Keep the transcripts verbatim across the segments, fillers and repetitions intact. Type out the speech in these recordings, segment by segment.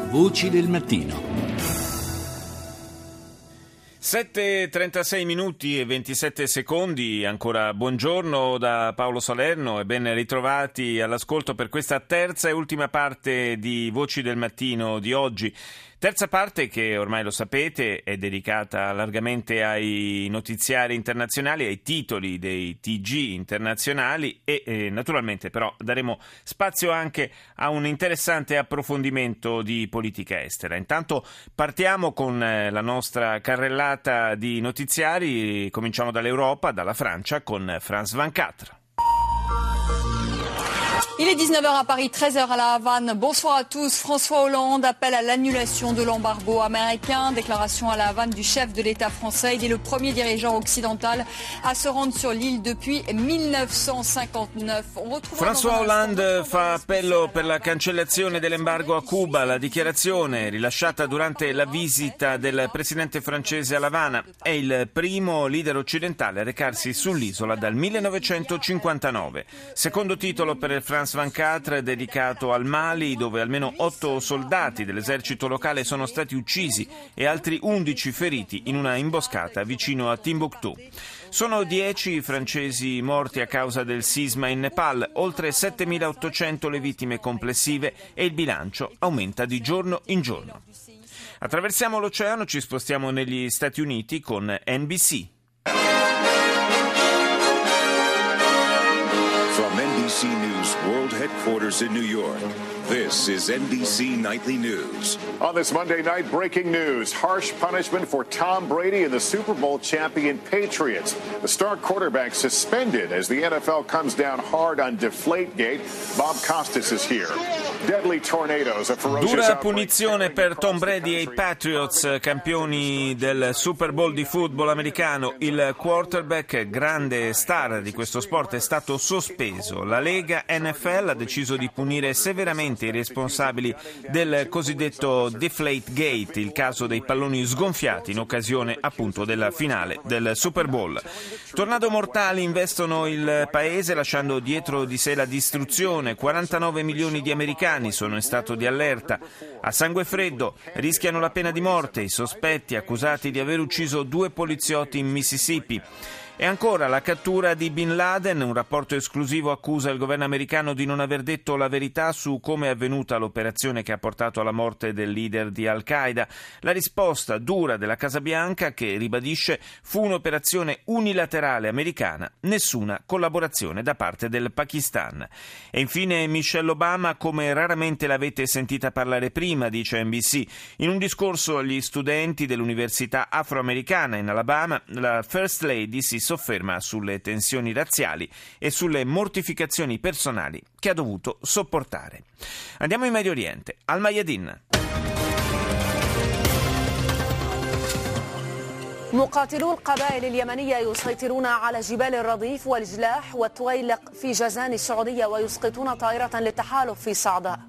Voci del mattino. sette e trentasei minuti e ventisette secondi, ancora buongiorno da Paolo Salerno e ben ritrovati all'ascolto per questa terza e ultima parte di Voci del Mattino di oggi. Terza parte che ormai lo sapete è dedicata largamente ai notiziari internazionali, ai titoli dei T G internazionali e eh, naturalmente però daremo spazio anche a un interessante approfondimento di politica estera. Intanto partiamo con eh, la nostra carrellata di notiziari, cominciamo dall'Europa, dalla Francia con France ventiquattro. Il est dix-neuf heures à Paris, treize heures à La Havane. Bonsoir à tous. François Hollande appelle à l'annulation de l'embargo américain. Déclaration à La Havane du chef de l'État français. Il est le premier dirigeant occidental à se rendre sur l'île depuis millenovecentocinquantaneuf. François Hollande fa appello per la cancellazione dell'embargo a Cuba. La dichiarazione rilasciata durante la visita del presidente francese a L'Havana. È il primo leader occidentale a recarsi sull'isola dal millenovecentocinquantanove. Secondo titolo per il France ventiquattro dedicato al Mali, dove almeno otto soldati dell'esercito locale sono stati uccisi e altri undici feriti in una imboscata vicino a Timbuktu. Sono dieci i francesi morti a causa del sisma in Nepal, oltre settemilaottocento le vittime complessive e il bilancio aumenta di giorno in giorno. Attraversiamo l'oceano, ci spostiamo negli Stati Uniti con N B C. From N B C News World Headquarters in New York, this is N B C Nightly News. On this Monday night, breaking news. Harsh punishment for Tom Brady and the Super Bowl champion Patriots. The star quarterback suspended as the N F L comes down hard on Deflategate. Bob Costas is here. Deadly tornadoes, a ferocious Dura punizione per Tom Brady e i Patriots, campioni del Super Bowl di football americano. Il quarterback, grande star di questo sport, è stato sospeso. La Lega N F L ha deciso di punire severamente i responsabili del cosiddetto Deflategate, il caso dei palloni sgonfiati in occasione appunto della finale del Super Bowl. Tornado mortali investono il paese lasciando dietro di sé la distruzione. quarantanove milioni di americani sono in stato di allerta. A sangue freddo rischiano la pena di morte i sospetti accusati di aver ucciso due poliziotti in Mississippi. E ancora la cattura di Bin Laden, un rapporto esclusivo accusa il governo americano di non aver detto la verità su come è avvenuta l'operazione che ha portato alla morte del leader di Al-Qaeda. La risposta dura della Casa Bianca, che ribadisce fu un'operazione unilaterale americana, nessuna collaborazione da parte del Pakistan. E infine Michelle Obama, come raramente l'avete sentita parlare prima, dice N B C. In un discorso agli studenti dell'università afroamericana in Alabama, la First Lady si sofferma sulle tensioni razziali e sulle mortificazioni personali che ha dovuto sopportare. Andiamo in Medio Oriente, al Mayadin. مقاتلو القبائل اليمنية يسيطرون على جبال الرضيف والجلاح والتويلق في جازان السعودية ويسقطون طائرة للتحالف في صعداء.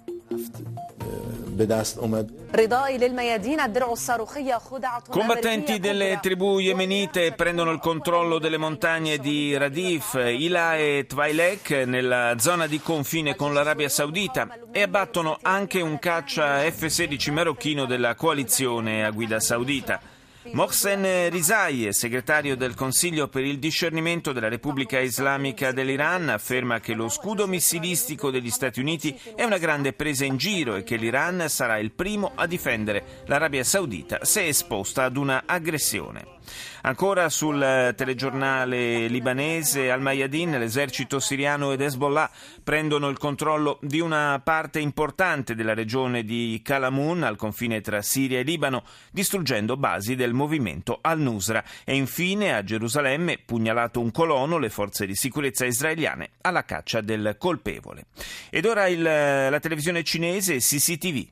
Combattenti delle tribù yemenite prendono il controllo delle montagne di Radif, Ila e Twailek nella zona di confine con l'Arabia Saudita e abbattono anche un caccia F sedici marocchino della coalizione a guida saudita. Mohsen Rizai, segretario del Consiglio per il discernimento della Repubblica Islamica dell'Iran, afferma che lo scudo missilistico degli Stati Uniti è una grande presa in giro e che l'Iran sarà il primo a difendere l'Arabia Saudita se esposta ad una aggressione. Ancora sul telegiornale libanese Al Mayadin, l'esercito siriano ed Hezbollah prendono il controllo di una parte importante della regione di Kalamun, al confine tra Siria e Libano, distruggendo basi del movimento Al-Nusra. E infine a Gerusalemme, pugnalato un colono, le forze di sicurezza israeliane alla caccia del colpevole. Ed ora il, la televisione cinese C C T V.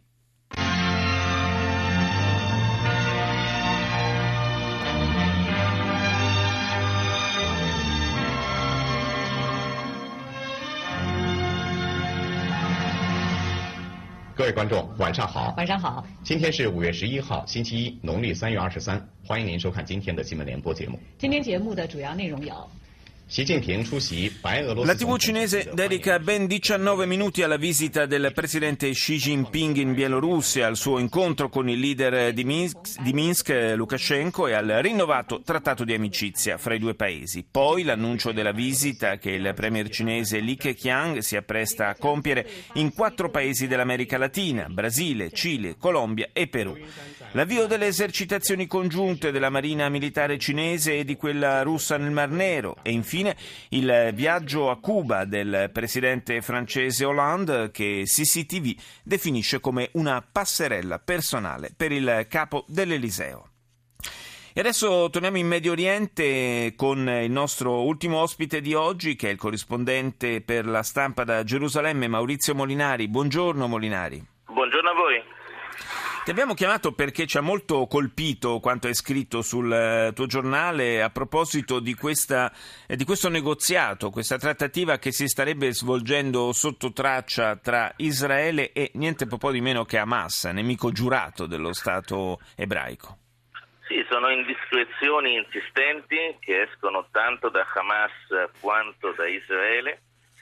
各位观众，晚上好。晚上好。今天是五月十一号，星期一，农历三月二十三。欢迎您收看今天的新闻联播节目。 今天节目的主要内容有： La tivù cinese dedica ben diciannove minuti alla visita del presidente Xi Jinping in Bielorussia, al suo incontro con il leader di Minsk, di Minsk Lukashenko e al rinnovato trattato di amicizia fra i due paesi. Poi l'annuncio della visita che il premier cinese Li Keqiang si appresta a compiere in quattro paesi dell'America Latina: Brasile, Cile, Colombia e Perù. L'avvio delle esercitazioni congiunte della Marina Militare cinese e di quella russa nel Mar Nero e infine il viaggio a Cuba del presidente francese Hollande, che C C T V definisce come una passerella personale per il capo dell'Eliseo. E adesso torniamo in Medio Oriente con il nostro ultimo ospite di oggi, che è il corrispondente per la stampa da Gerusalemme, Maurizio Molinari. Buongiorno Molinari. Buongiorno a voi. Ti abbiamo chiamato perché ci ha molto colpito quanto hai scritto sul tuo giornale a proposito di, questa, di questo negoziato, questa trattativa che si starebbe svolgendo sotto traccia tra Israele e niente po' di meno che Hamas, nemico giurato dello Stato ebraico. Sì, sono indiscrezioni insistenti che escono tanto da Hamas quanto da Israele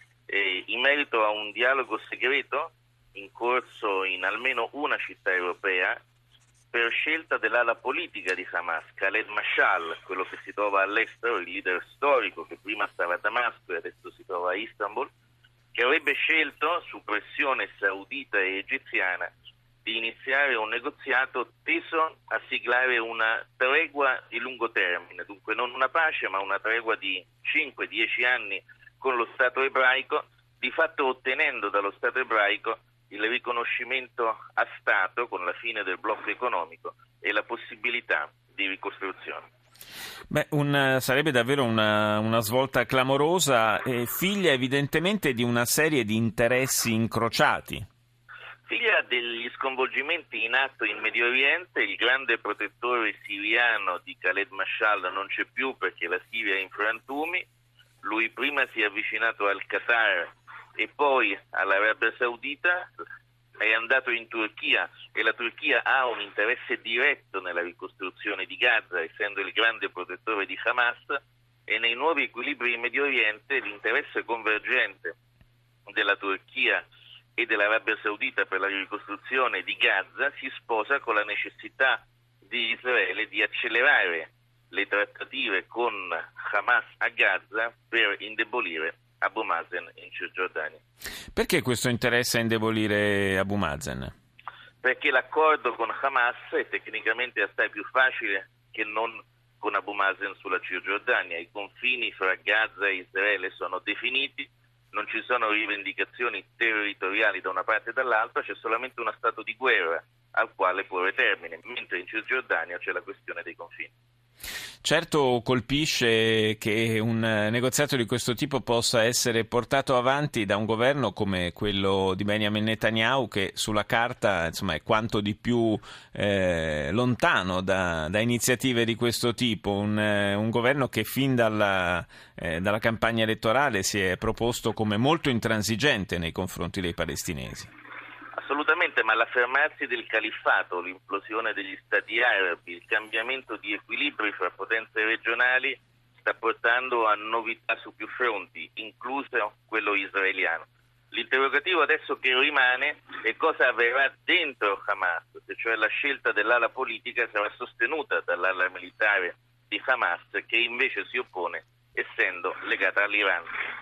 e in merito a un dialogo segreto in corso in almeno una città europea per scelta dell'ala politica di Hamas, Khaled Mashal, quello che si trova all'estero, il leader storico che prima stava a Damasco e adesso si trova a Istanbul, che avrebbe scelto, su pressione saudita e egiziana, di iniziare un negoziato teso a siglare una tregua di lungo termine, dunque non una pace ma una tregua di cinque dieci anni con lo Stato ebraico, di fatto ottenendo dallo Stato ebraico il riconoscimento a Stato con la fine del blocco economico e la possibilità di ricostruzione. Beh, un, sarebbe davvero una, una svolta clamorosa, eh, figlia evidentemente di una serie di interessi incrociati. Figlia degli sconvolgimenti in atto in Medio Oriente, il grande protettore siriano di Khaled Mashal non c'è più perché la Siria è in frantumi, lui prima si è avvicinato al Qatar e poi all'Arabia Saudita, è andato in Turchia e la Turchia ha un interesse diretto nella ricostruzione di Gaza, essendo il grande protettore di Hamas, e nei nuovi equilibri in Medio Oriente l'interesse convergente della Turchia e dell'Arabia Saudita per la ricostruzione di Gaza si sposa con la necessità di Israele di accelerare le trattative con Hamas a Gaza per indebolire Abu Mazen in Cisgiordania. Perché questo interesse a indebolire Abu Mazen? Perché l'accordo con Hamas è tecnicamente assai più facile che non con Abu Mazen sulla Cisgiordania. I confini fra Gaza e Israele sono definiti, non ci sono rivendicazioni territoriali da una parte e dall'altra, c'è solamente uno stato di guerra al quale porre termine, mentre in Cisgiordania c'è la questione dei confini. Certo, colpisce che un negoziato di questo tipo possa essere portato avanti da un governo come quello di Benjamin Netanyahu, che sulla carta insomma è quanto di più eh, lontano da, da iniziative di questo tipo, un, eh, un governo che fin dalla, eh, dalla campagna elettorale si è proposto come molto intransigente nei confronti dei palestinesi. Assolutamente, ma l'affermarsi del califfato, l'implosione degli stati arabi, il cambiamento di equilibri fra potenze regionali sta portando a novità su più fronti, incluso quello israeliano. L'interrogativo adesso che rimane è cosa avverrà dentro Hamas, se cioè la scelta dell'ala politica sarà sostenuta dall'ala militare di Hamas, che invece si oppone essendo legata all'Iran.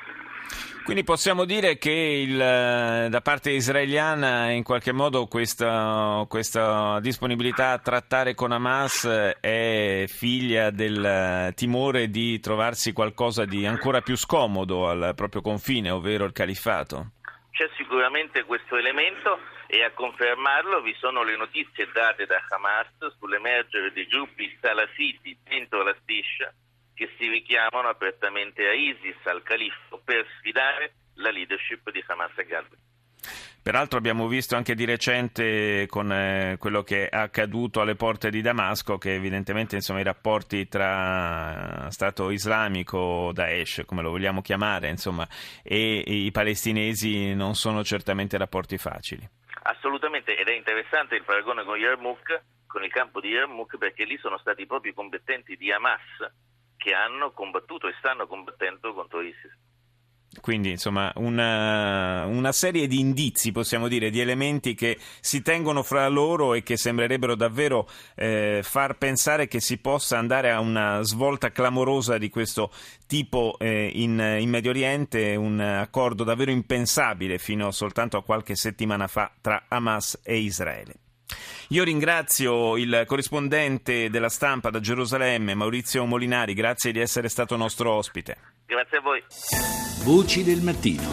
Quindi possiamo dire che il, da parte israeliana in qualche modo questa, questa disponibilità a trattare con Hamas è figlia del timore di trovarsi qualcosa di ancora più scomodo al proprio confine, ovvero il califfato? C'è sicuramente questo elemento e a confermarlo vi sono le notizie date da Hamas sull'emergere dei gruppi salafiti dentro la striscia che si richiamano apertamente a ISIS, al califfo, per sfidare la leadership di Hamas a Gaza. Peraltro abbiamo visto anche di recente con eh, quello che è accaduto alle porte di Damasco che evidentemente insomma i rapporti tra Stato Islamico, Daesh, come lo vogliamo chiamare, insomma, e, e i palestinesi non sono certamente rapporti facili. Assolutamente, ed è interessante il paragone con Yarmouk, con il campo di Yarmouk, perché lì sono stati proprio i combattenti di Hamas che hanno combattuto e stanno combattendo contro ISIS. Quindi, insomma, una, una serie di indizi, possiamo dire, di elementi che si tengono fra loro e che sembrerebbero davvero eh, far pensare che si possa andare a una svolta clamorosa di questo tipo eh, in, in Medio Oriente, un accordo davvero impensabile fino soltanto a qualche settimana fa tra Hamas e Israele. Io ringrazio il corrispondente della Stampa da Gerusalemme, Maurizio Molinari, grazie di essere stato nostro ospite. Grazie a voi. Voci del mattino.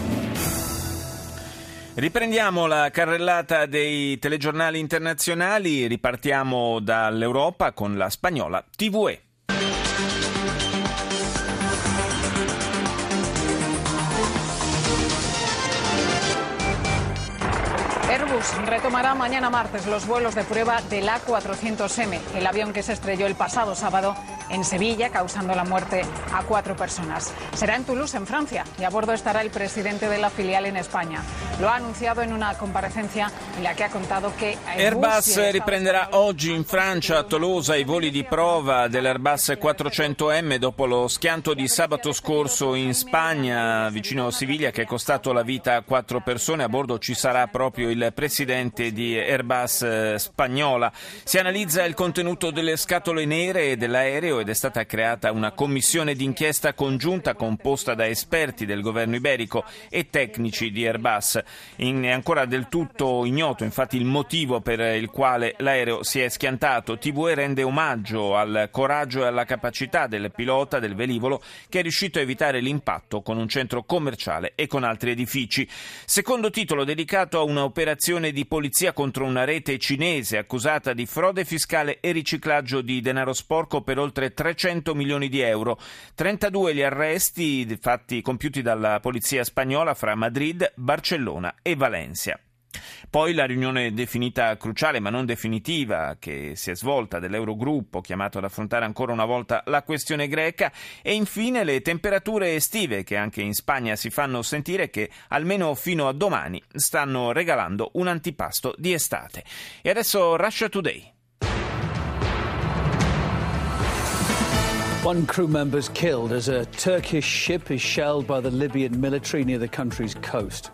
Riprendiamo la carrellata dei telegiornali internazionali, ripartiamo dall'Europa con la spagnola T V E. Airbus retomará mañana martes los vuelos de prueba del A cuatrocientos eme, el avión que se estrelló el pasado sábado en Sevilla, causando la muerte a cuatro personas. Será en Toulouse, en Francia, y a bordo estará el presidente de la filial en España. Lo ha anunciado en una comparecencia en la que ha contado que Airbus riprenderà oggi in Francia, a Tolosa, i voli di prova dell'Airbus quattrocento emme dopo lo schianto di sabato scorso in Spagna, vicino a Siviglia, che è costato la vita a quattro persone. A bordo ci sarà proprio il presidente di Airbus spagnola. Si analizza il contenuto delle scatole nere dell'aereo ed è stata creata una commissione d'inchiesta congiunta composta da esperti del governo iberico e tecnici di Airbus. In, è ancora del tutto ignoto infatti il motivo per il quale l'aereo si è schiantato. T V E rende omaggio al coraggio e alla capacità del pilota del velivolo, che è riuscito a evitare l'impatto con un centro commerciale e con altri edifici. Secondo titolo dedicato a un'operazione di polizia contro una rete cinese accusata di frode fiscale e riciclaggio di denaro sporco per oltre trecento milioni di euro. trentadue gli arresti fatti compiuti dalla polizia spagnola fra Madrid, Barcellona e Valencia. Poi la riunione definita cruciale ma non definitiva che si è svolta dell'Eurogruppo, chiamato ad affrontare ancora una volta la questione greca, e infine le temperature estive che anche in Spagna si fanno sentire, che almeno fino a domani stanno regalando un antipasto di estate. E adesso Russia Today. One crew member is killed as a Turkish ship is shelled by the Libyan military near the country's coast.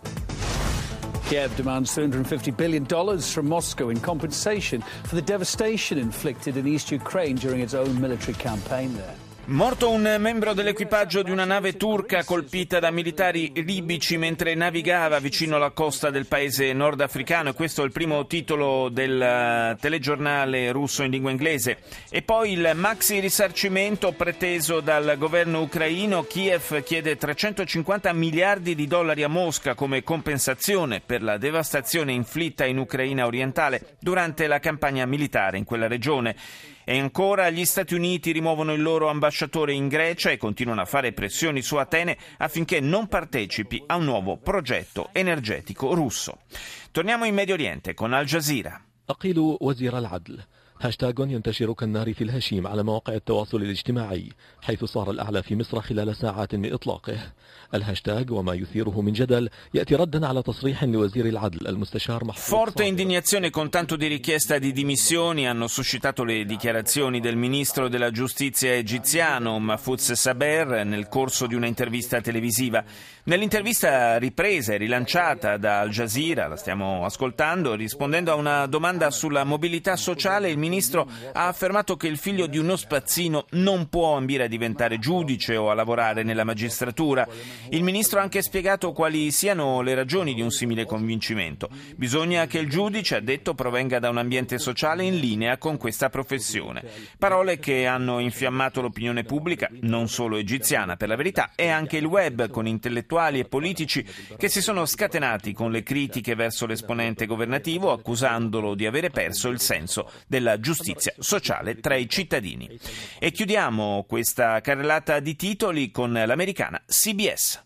Kiev demands three hundred fifty billion dollars from Moscow in compensation for the devastation inflicted in East Ukraine during its own military campaign there. Morto un membro dell'equipaggio di una nave turca colpita da militari libici mentre navigava vicino alla costa del paese nordafricano, e questo è il primo titolo del telegiornale russo in lingua inglese. E poi il maxi risarcimento preteso dal governo ucraino. Kiev chiede trecentocinquanta miliardi di dollari a Mosca come compensazione per la devastazione inflitta in Ucraina orientale durante la campagna militare in quella regione. E ancora gli Stati Uniti rimuovono il loro ambasciatore in Grecia e continuano a fare pressioni su Atene affinché non partecipi a un nuovo progetto energetico russo. Torniamo in Medio Oriente con Al Jazeera. أقيل وزير العدل هاشتاغ ينتشر كالنار في الهشيم على مواقع التواصل الاجتماعي حيث صار الأعلى في مصر خلال ساعات من إطلاقه. الهاشتاغ وما يثيره من جدل يأتي ردا على تصريح لوزير العدل المستشار محفوظ. Forte indignazione con tanto di richiesta di dimissioni hanno suscitato le dichiarazioni del ministro della giustizia egiziano Mahfouz Saber nel corso di una intervista televisiva. Nell'intervista ripresa e rilanciata da Al Jazeera, la stiamo ascoltando, rispondendo a una domanda sulla mobilità sociale, il ministro ha affermato che il figlio di uno spazzino non può ambire a diventare giudice o a lavorare nella magistratura. Il ministro ha anche spiegato quali siano le ragioni di un simile convincimento. Bisogna che il giudice, ha detto, provenga da un ambiente sociale in linea con questa professione. Parole che hanno infiammato l'opinione pubblica, non solo egiziana per la verità, e anche il web, con intellettuali e politici che si sono scatenati con le critiche verso l'esponente governativo, accusandolo di avere perso il senso della giustizia sociale tra i cittadini. E chiudiamo questa carrellata di titoli con l'americana C B S.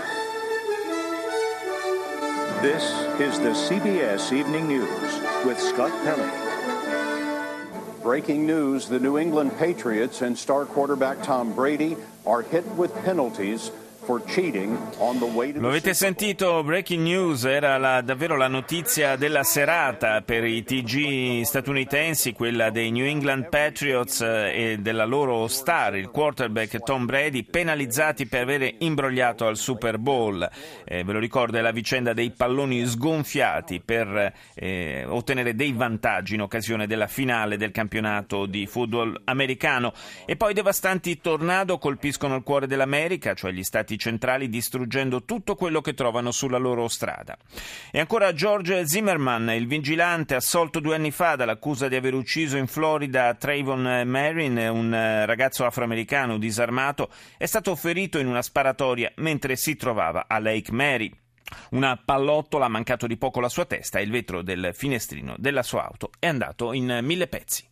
This is the C B S Evening News with Scott Pelley. Breaking news, the New England Patriots and star quarterback Tom Brady are hit with penalties for cheating on the way to Lo avete sentito, breaking news, era la, davvero la notizia della serata per i T G statunitensi, quella dei New England Patriots e della loro star, il quarterback Tom Brady, penalizzati per avere imbrogliato al Super Bowl. Eh, ve lo ricordo, è la vicenda dei palloni sgonfiati per eh, ottenere dei vantaggi in occasione della finale del campionato di football americano. E poi devastanti tornado colpiscono il cuore dell'America, cioè gli stati centrali, distruggendo tutto quello che trovano sulla loro strada. E ancora George Zimmerman, il vigilante assolto due anni fa dall'accusa di aver ucciso in Florida Trayvon Martin, un ragazzo afroamericano disarmato, è stato ferito in una sparatoria mentre si trovava a Lake Mary. Una pallottola ha mancato di poco la sua testa e il vetro del finestrino della sua auto è andato in mille pezzi.